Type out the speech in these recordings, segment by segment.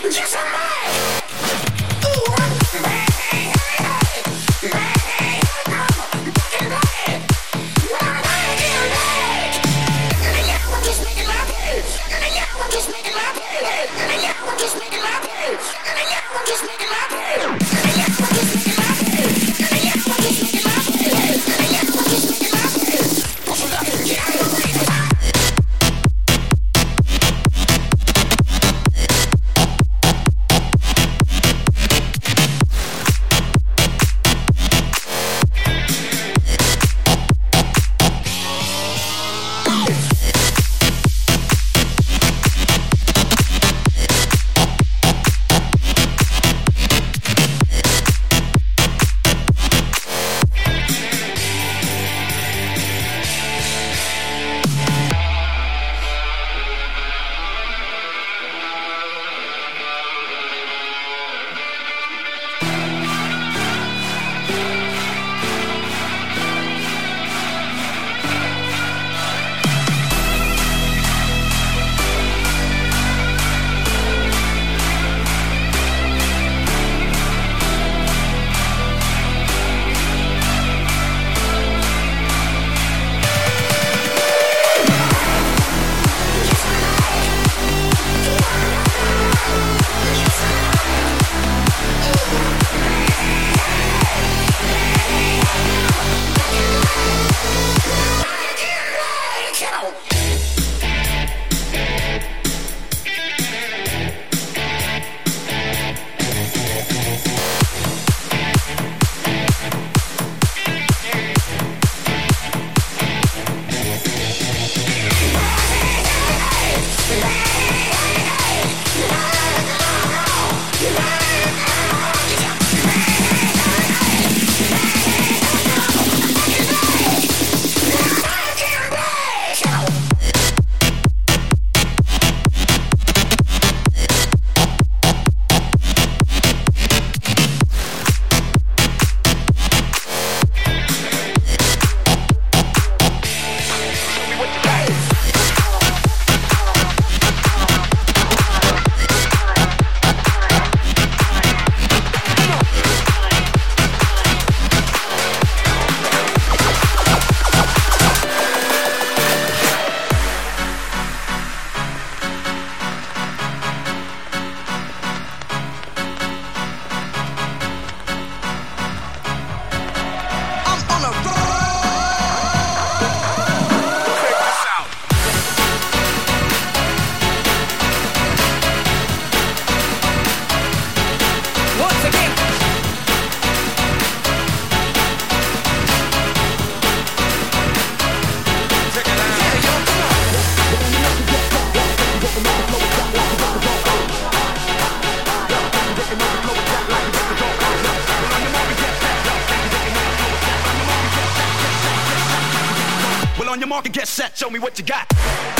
on your mark and get set, show me what you got.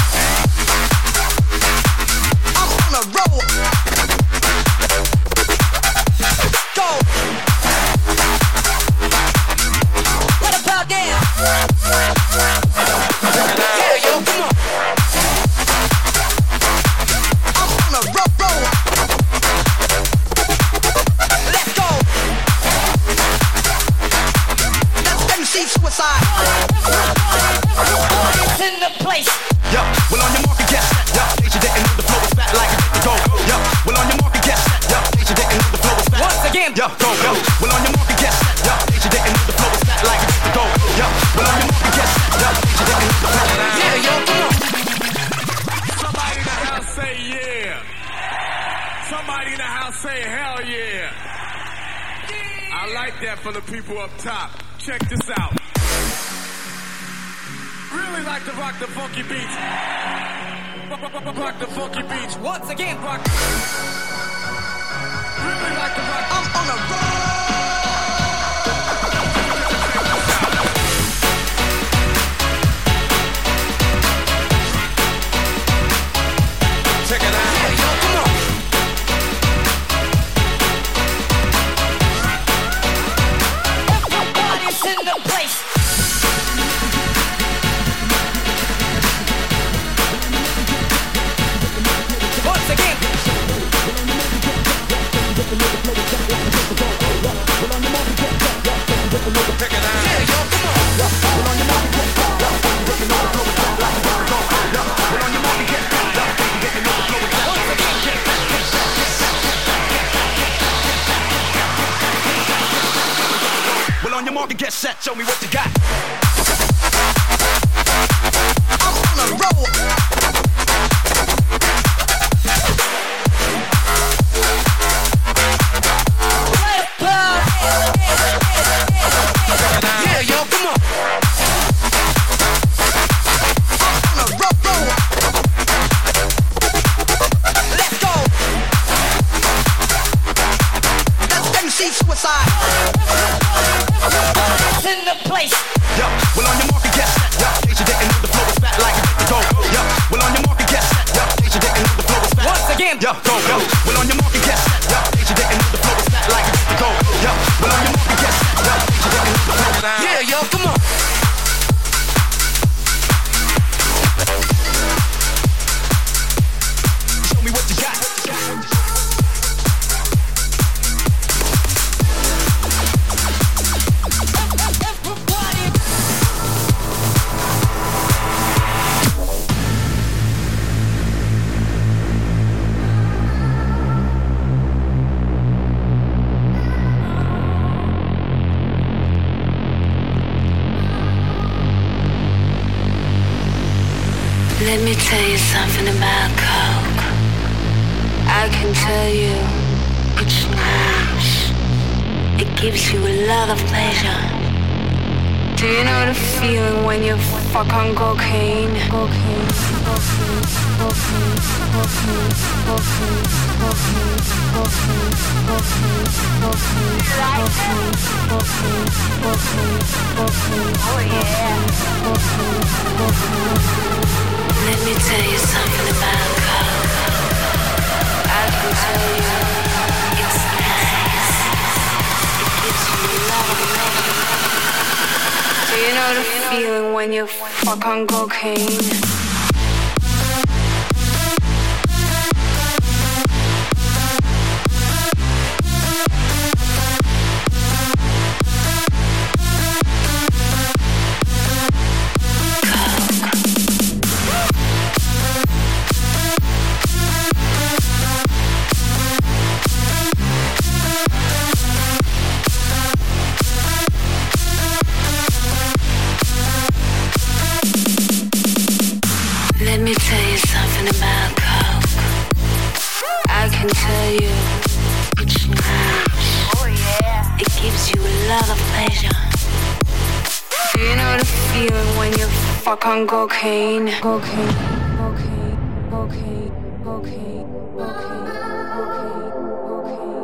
I'm on a roll. Go. Let it pound down. Yeah, yo, come on. I'm on a roll. Let's go. Let me see suicide. It's in the place. Yo, well on your mark and get set. Yo, in case you didn't know the flow is fat like a to go. Yo, well on your mark and get set. Yo, in case you didn't know the flow is fat. Once again. Yo, go, go. Well on your mark and get set. Yo, in case you didn't know the flow is fat like a to go. Yo, well on your mark and get set. Yo, in case you didn't know the flow is fat. Yeah, yo, come on. Somebody in the house say yeah. Somebody in the house say hell yeah. I like that for the people up top. Check this out. Really like to rock the funky beats. Rock the funky beats. Once again, rock. Really like to rock. I'm on a roll. Check it out. Yeah, yo, come on. Everybody's in the place. Once again. market, get set, show me what you got. I'm on a roll. Yeah, yo, come on. I'm on a roll. Let's go. That's MC Suicide. In the place. Yo, well on your market, get set. Yo, in case you didn't know the flow is fat like a to go. Yo, well on your market, get set. Yo, in case you didn't know the flow is fat. Once again. Yo, go, yo. Well on your market, get set. Yo, in case you didn't know the flow is fat like a to go. Yo, well on your market, get set. Yo, in case you didn't know the flow is fat. Yeah, yo, come on. Show me what you got. Let me tell you something about Coke. I can tell you it's nice. It gives you a lot of pleasure. Do you know the feeling when you fuck on cocaine? Cocaine, cocaine, cocaine, cocaine, cocaine, cocaine, cocaine, cocaine, cocaine, cocaine, cocaine, cocaine, cocaine. Oh yeah. Cocaine, cocaine. Let me tell you something about Coke. I can tell you it's nice. It gives you a lot of pleasure. Do you know the feeling when you fuck on cocaine? Let me tell you something about Coke. I can tell you it's nice. Oh yeah. It gives you a lot of pleasure. Do you know the feeling when you fuck on cocaine? Cocaine, cocaine, cocaine, cocaine, cocaine, cocaine, cocaine, cocaine.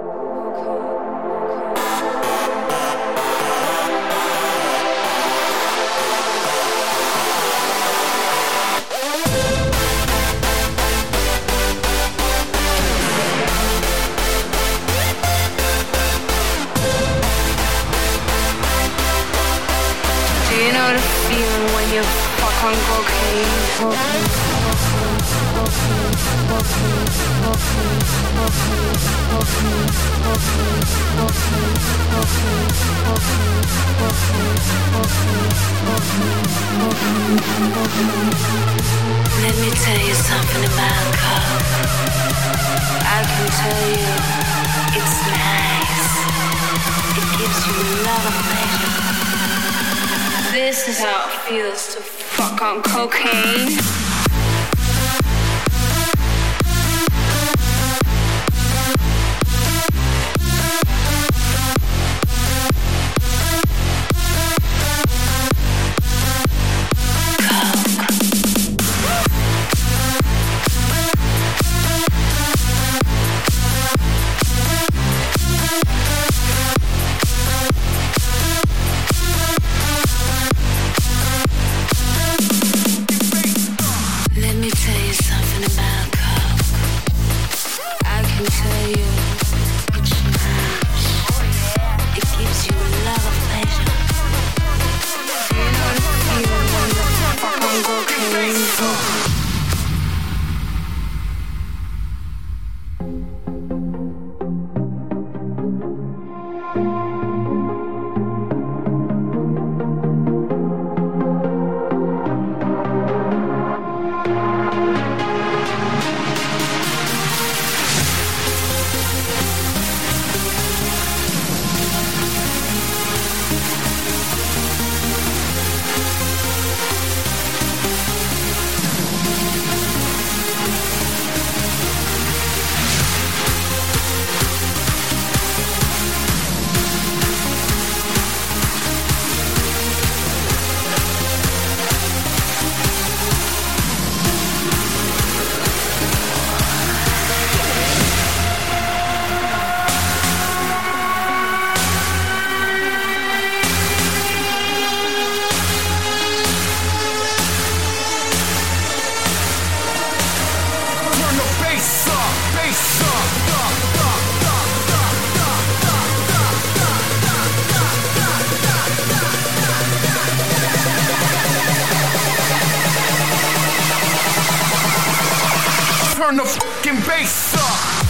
Do you know the feeling when you fuck on cocaine? Cocaine, cocaine, cocaine, cocaine, cocaine, cocaine, cocaine, cocaine, cocaine, cocaine, cocaine, cocaine, cocaine. Let me tell you something about Coke. I can tell you it's nice. It gives you a lot of pleasure. This is how it feels to fuck on cocaine. the fucking bass up.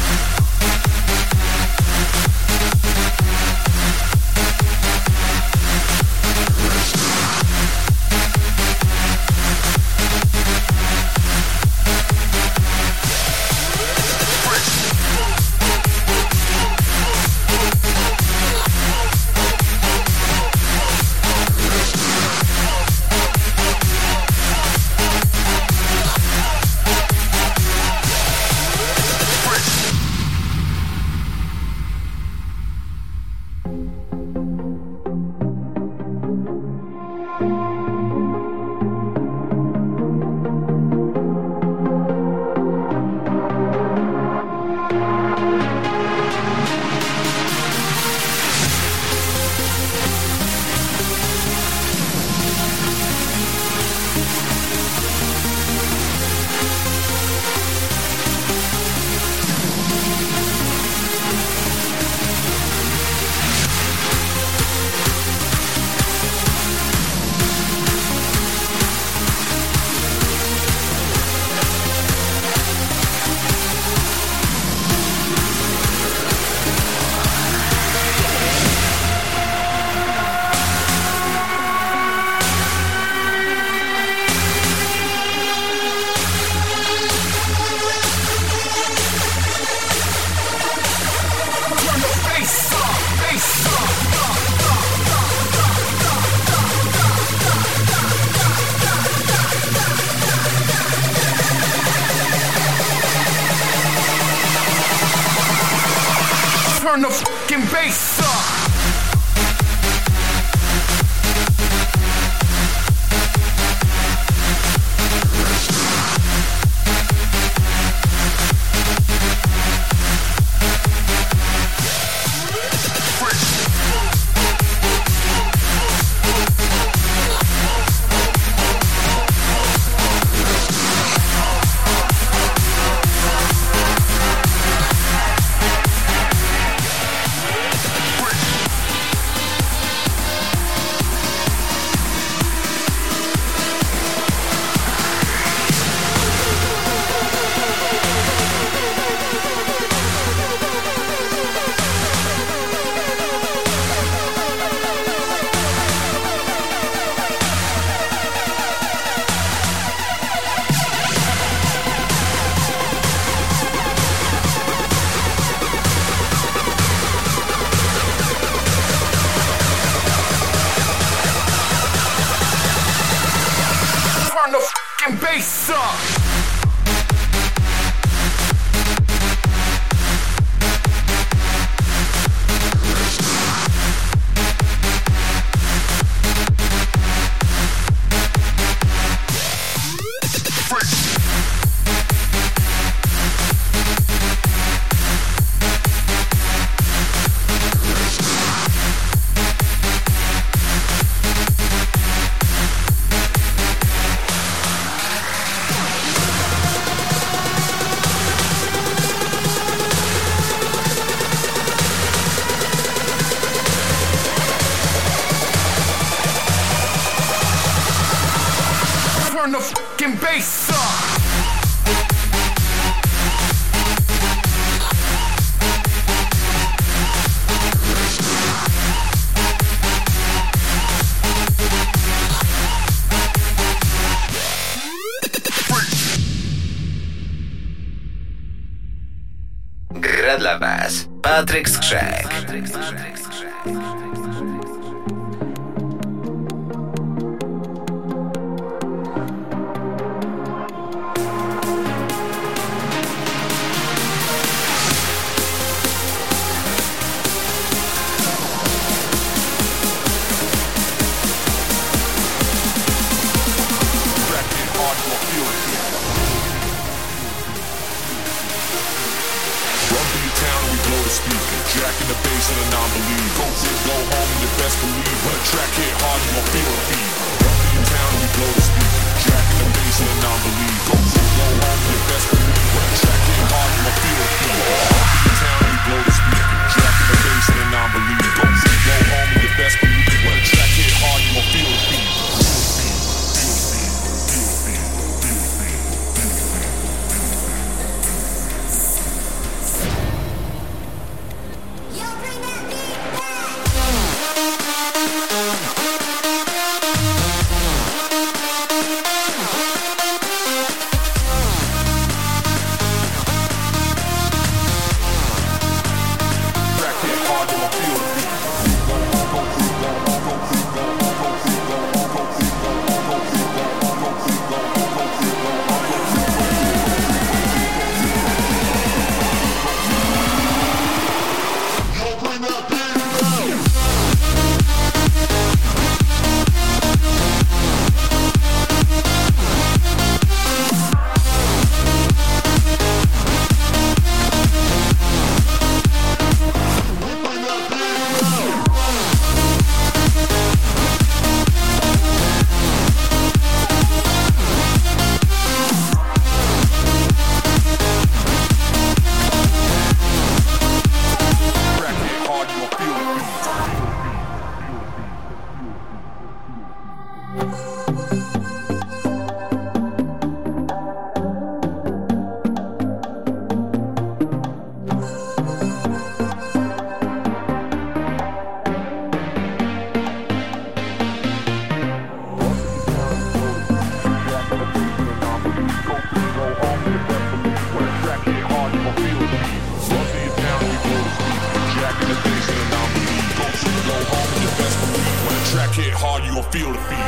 Turn the fucking bass up. Turn the fucking bass up. Turn the fucking bass up. Gra dla was Patryk Skrzek. Jack in the bass and a non-believe. Go big, go home, and you best believe. When a track hit hard, you gon' feel the beat. Run through your town and we blow the speaker. Jack in the bass and a non-believe. Go big, go home, and you best believe. When a track hit hard, you gon' feel the beat. Run through your town and we blow the speaker. Jack in the bass and a non-believe. Go big, go home, and you best believe. When a track hit hard, you gon' feel the beat. gon' feel the beat.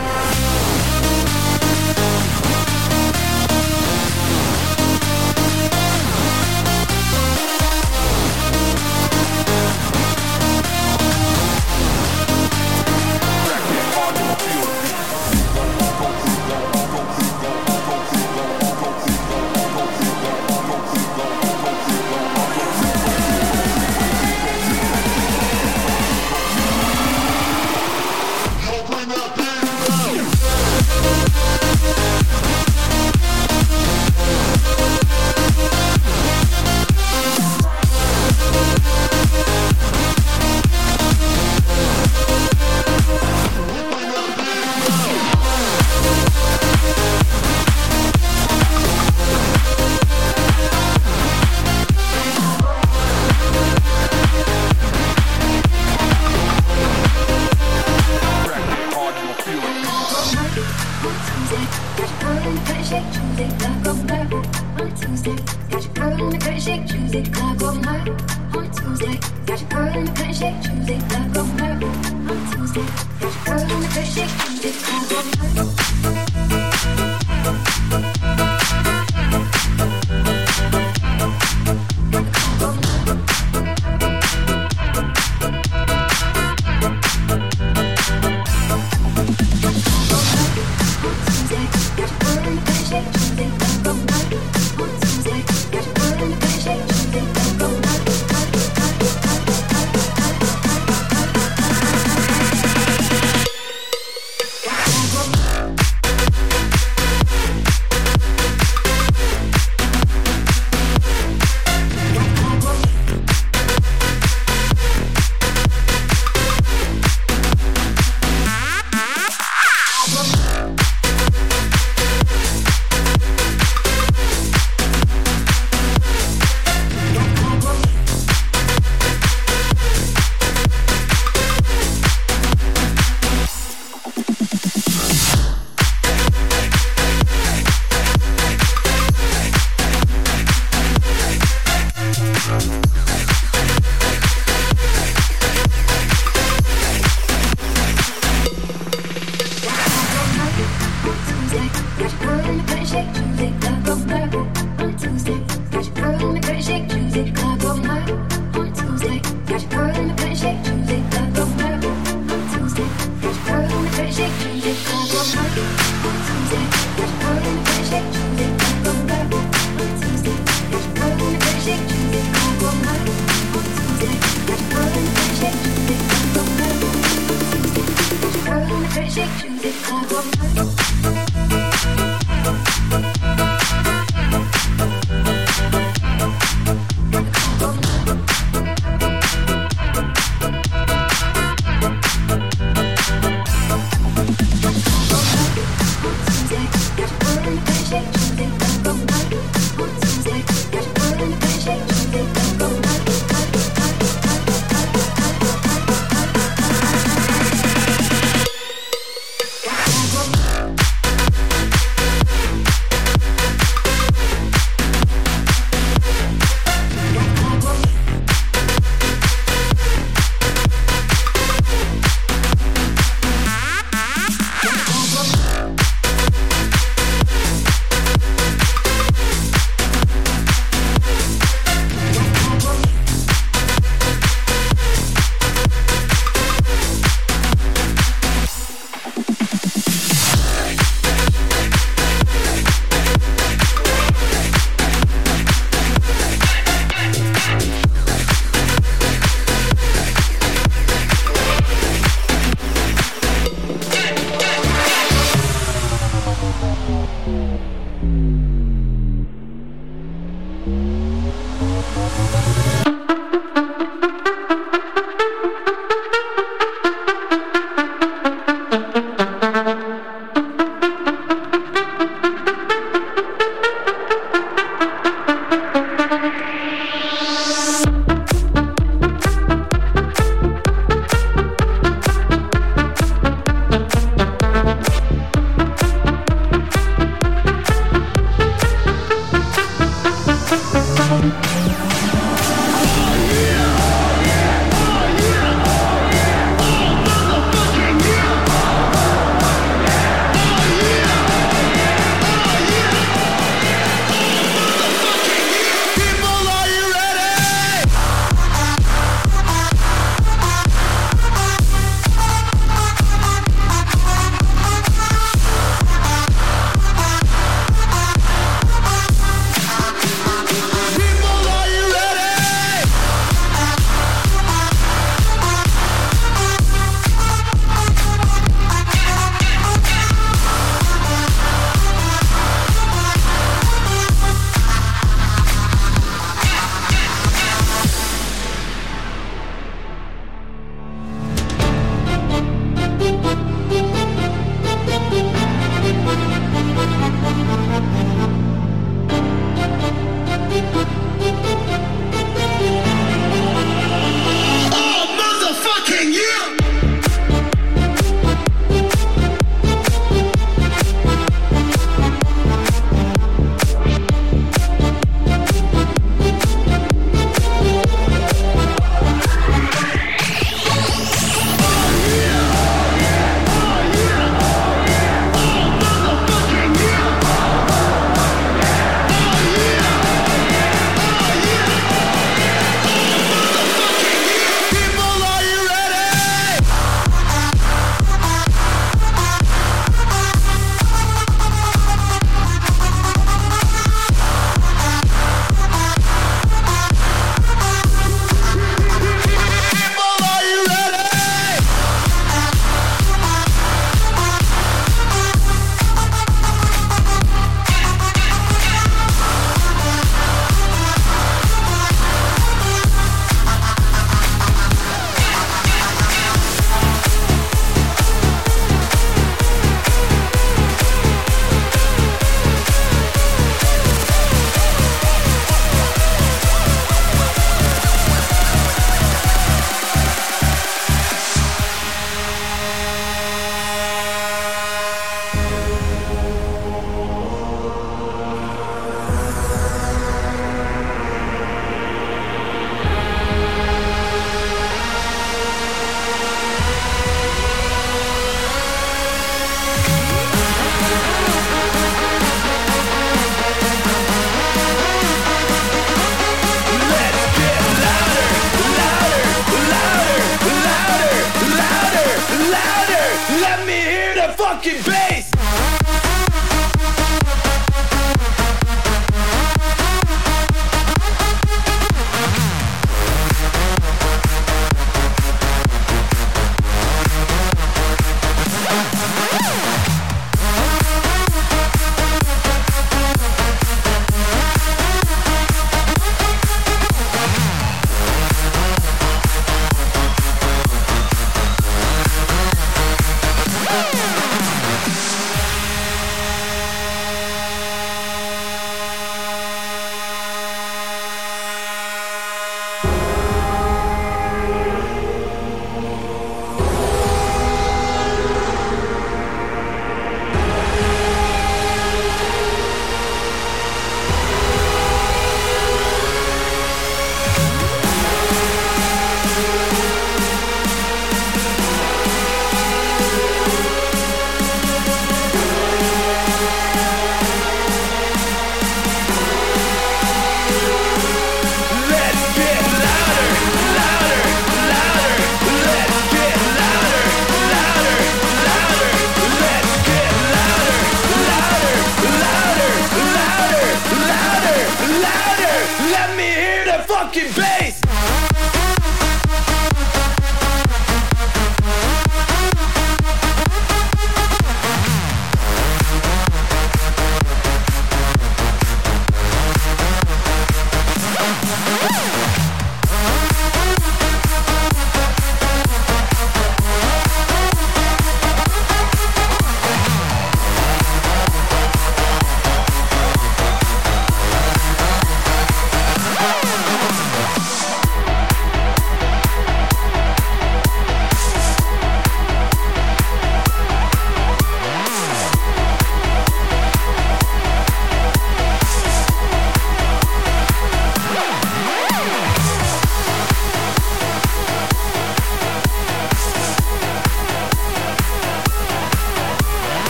fucking bass.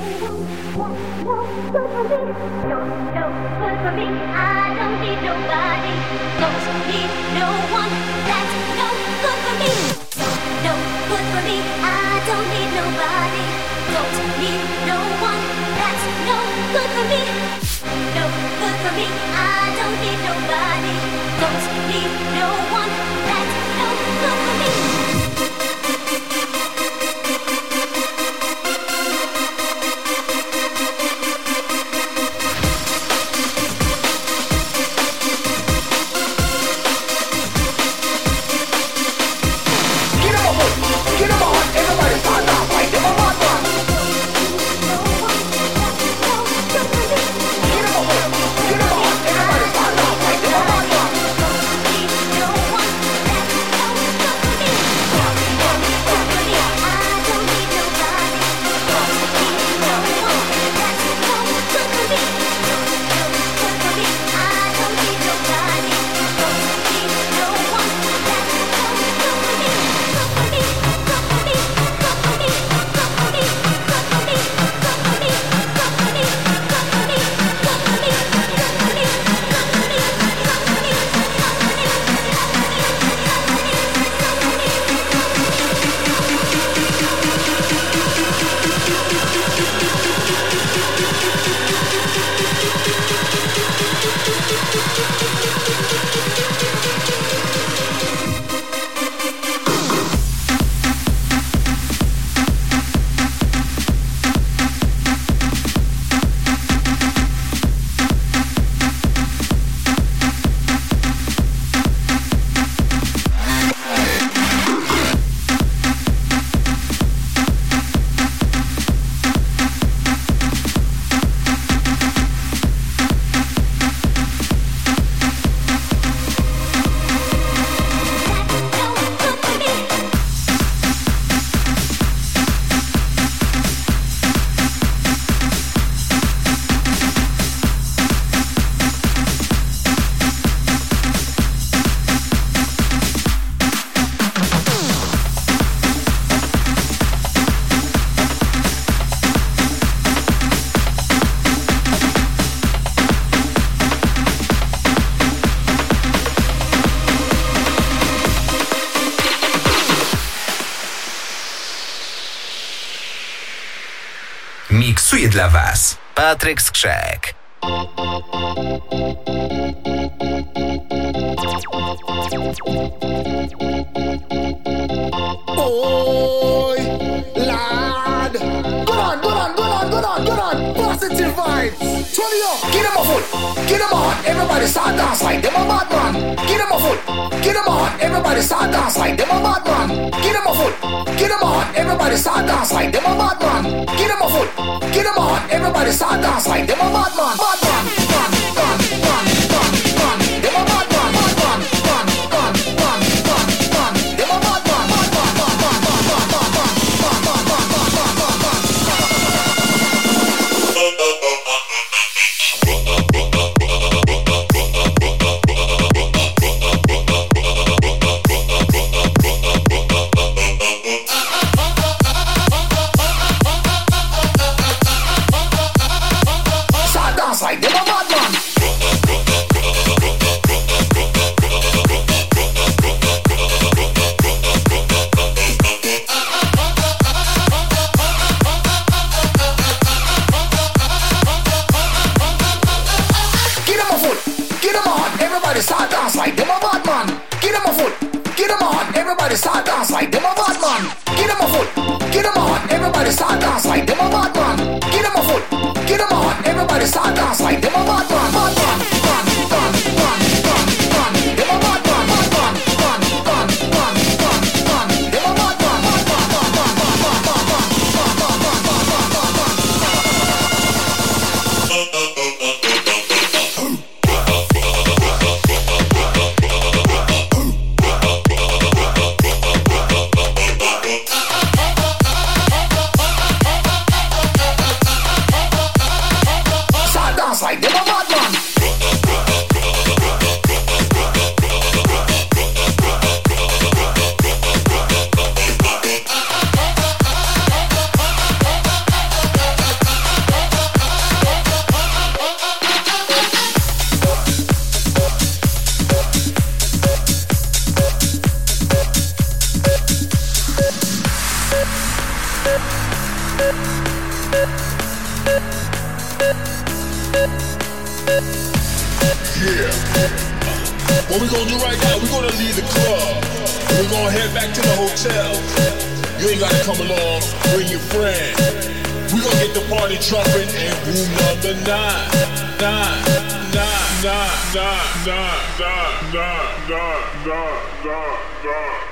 Miksuje dla Was Patryk Skrzek. Oi, lad. Go on. Positive vibes. Turn it up. Get 'em a foot. Get 'em on. Everybody start dance like them a bad man. Get 'em a foot. Get 'em on. Everybody start dance like them a bad man. Get 'em a foot. Get 'em on. Everybody start dance like them a bad man. Get 'em a foot. Get 'em on. Everybody start dance like them a bad man. Bad man. Them a bad man. Start dance like them a bad man. Get 'em a foot. Get 'em on. Everybody start dance like them a bad man. Get 'em a foot. Get 'em on. Everybody start dance like them a bad man. Get 'em a foot. Get 'em on. Everybody start dance like them a bad man. Bad man. Them a bad man. Them a bad man. Yeah. What we gonna do right now, we gonna leave the club. And we gonna head back to the hotel. You ain't gotta come along, bring your friend. We gonna get the party jumping in room number 9. 9, 9, 9, 9, 9, 9, 9, 9, 9, 9.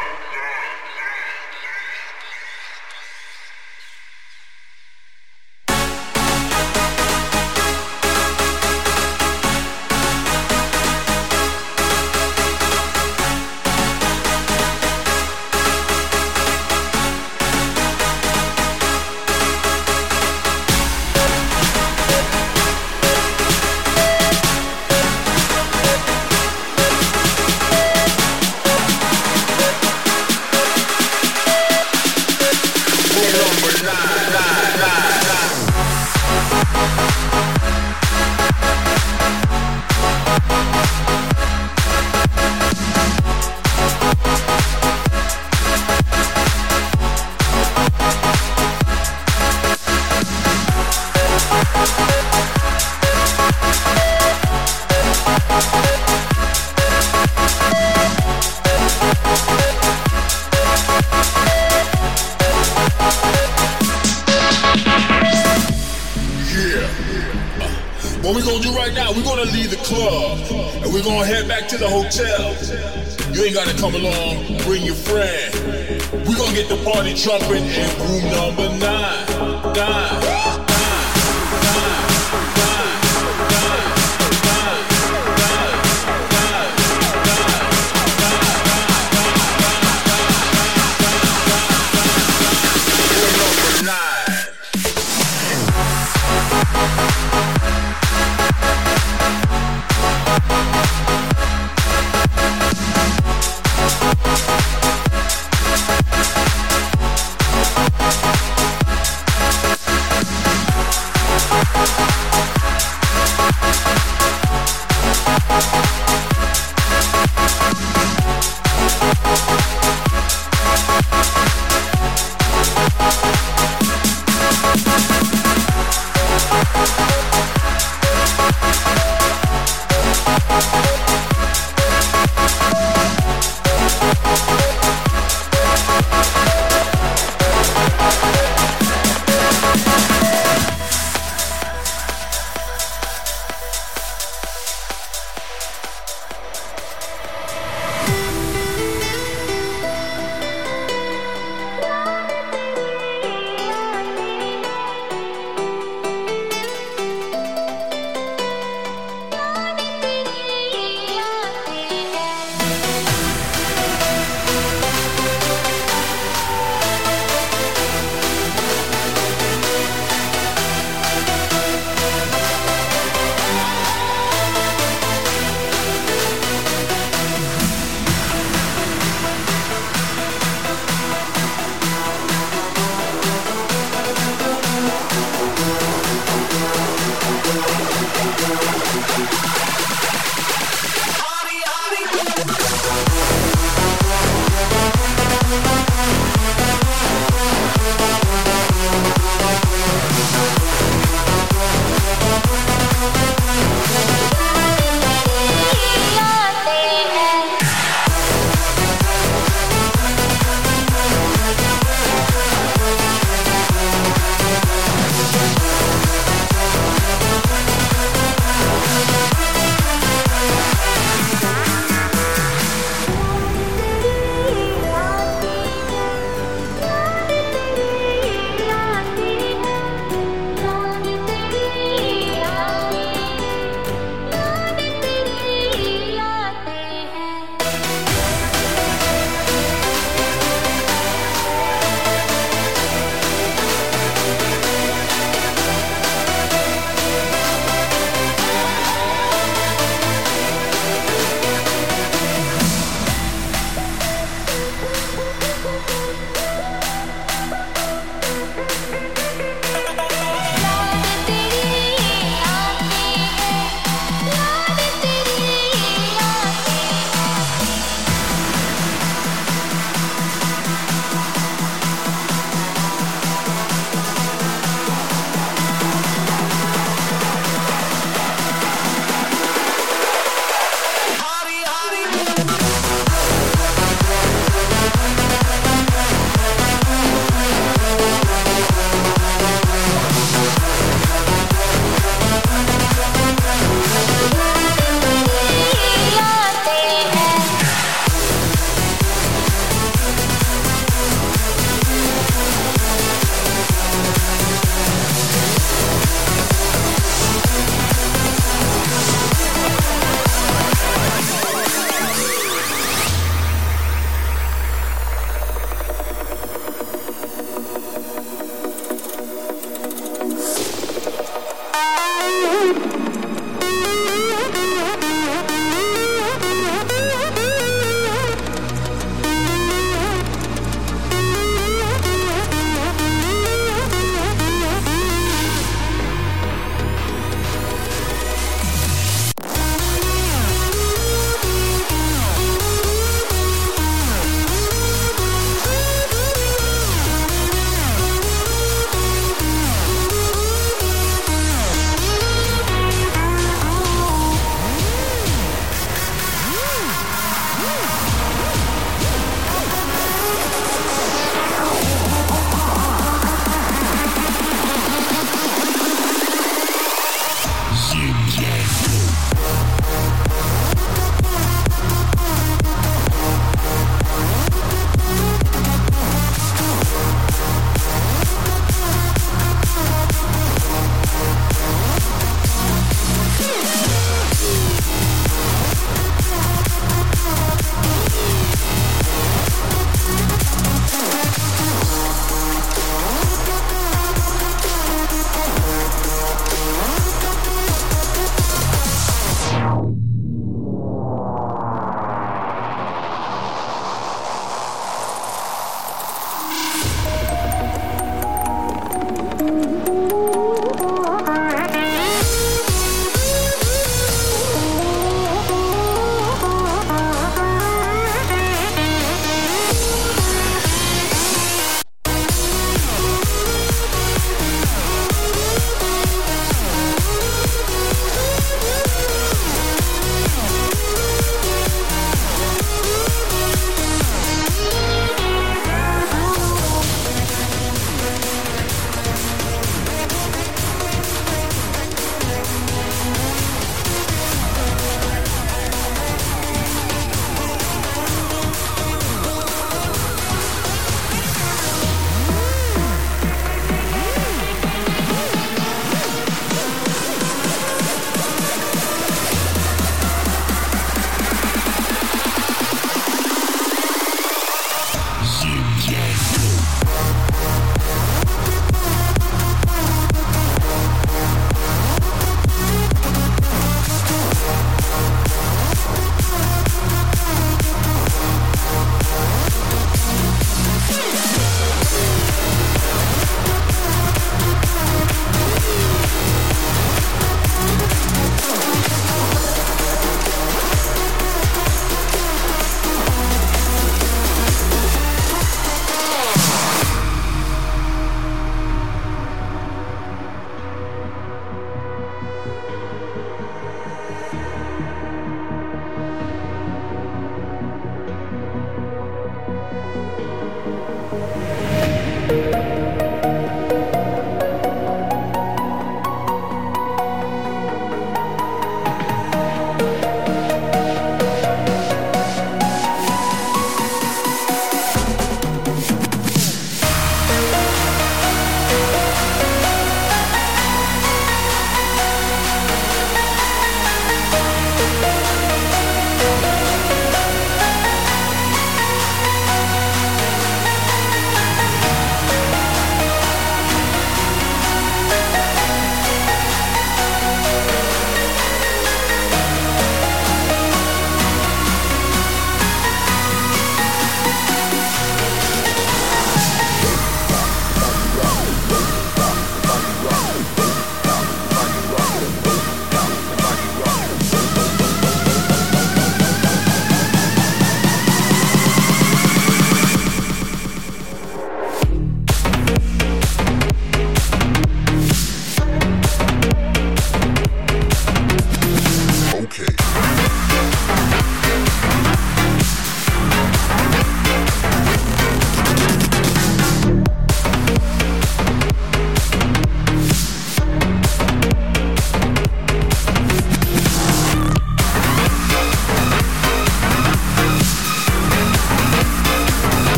What we gonna do right now, we're gonna leave the club and we're gonna head back to the hotel. You ain't gotta come along, bring your friend. We're gonna get the party jumping in room number 9. 9.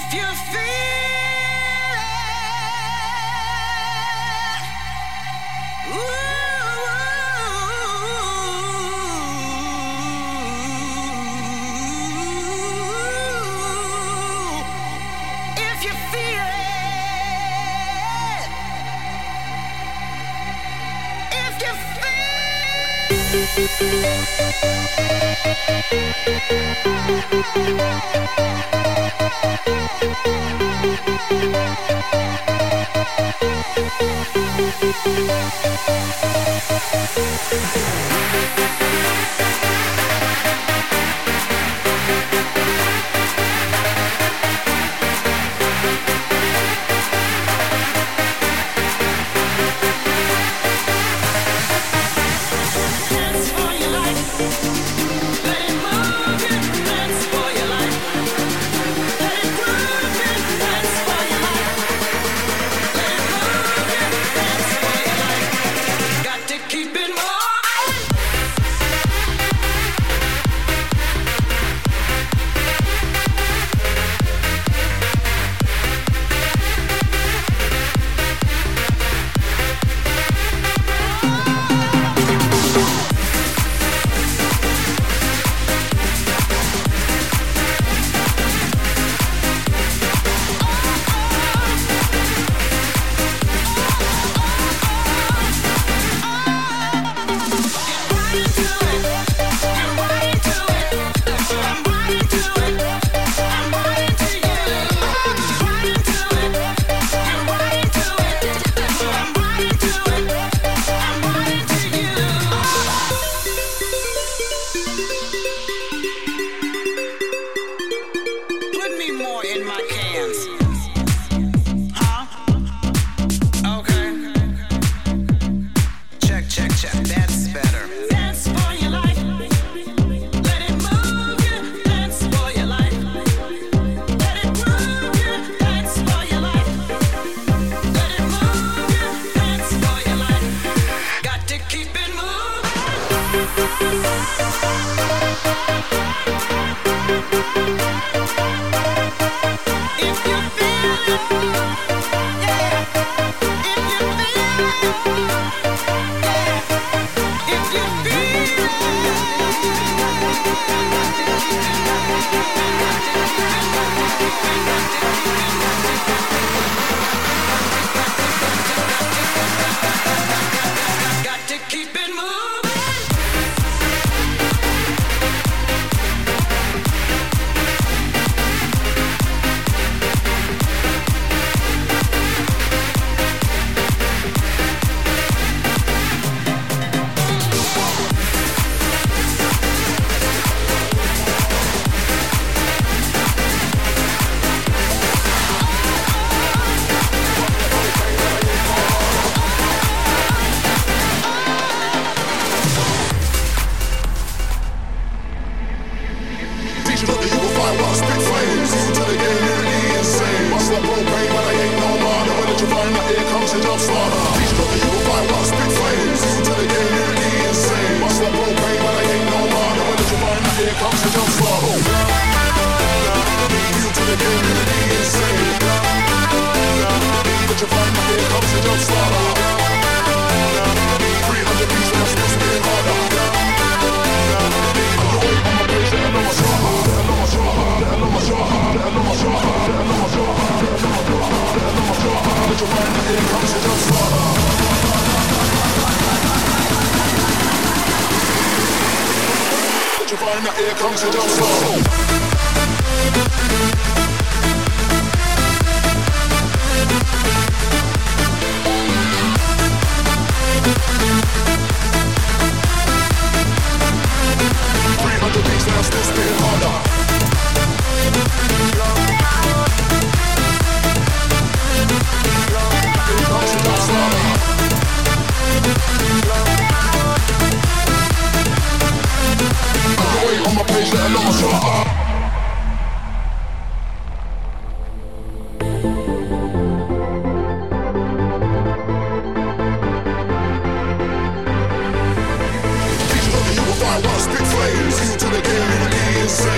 Spit flames, you to the game, you be insane.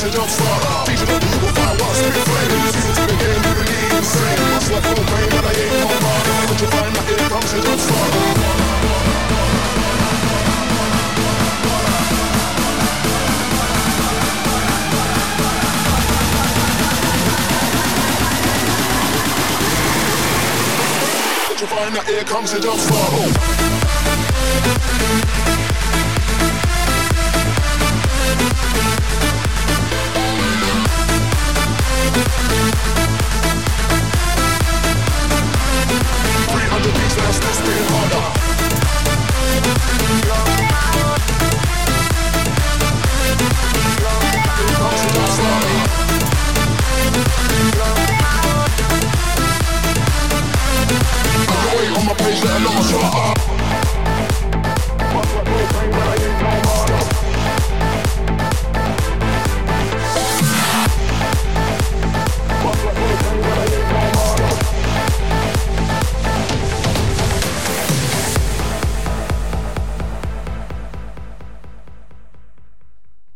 the jump start. Teach you the move with fire while spit flame. Season to the game, you believe insane. Hustle like no pain, but I ain't no man. But you find that here comes the jump start. You find that here comes the jump start.